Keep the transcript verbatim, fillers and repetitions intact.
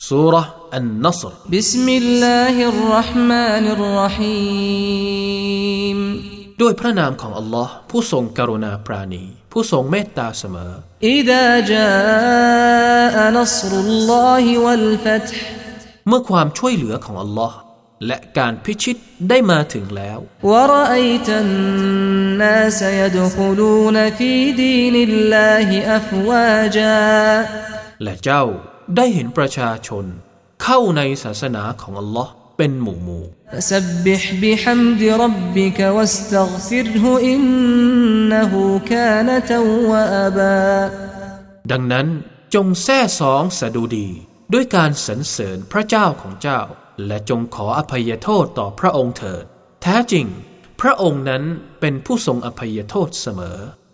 ซูเราะห์อันนัศรบิสมิลลาฮิรเราะห์มานิรเราะฮีมด้วยพระนามของอัลลอฮ์ผู้ทรงกรุณาปราณีผู้ทรงเมตตาเสมออิซาจาอะนัศรุลลอฮิวัลฟัตฮ์เมื่อความช่วยเหลือของอัลลอฮ์และการพิชิตได้มาถึงแล้ววะรออัยตันนาสยัดคุลูนฟีดีนิลลาฮิอัฟวาจาและเจ้าได้เห็นประชาชนเข้าในศาสนาของอัลลอฮ์เป็นหมู่หมู่ฟัซับบิฮบิฮัมดิร็อบบิกวัสตัฆฟิรฮุอินนะฮูกานะตัววาบาดังนั้นจงแซ่สองสดุดีด้วยการสรรเสริญพระเจ้าของเจ้าและจงขออภัยโทษต่อพระองค์เถิดแท้จริงพระองค์นั้นเป็นผู้ทรงอภัยโทษเสมอ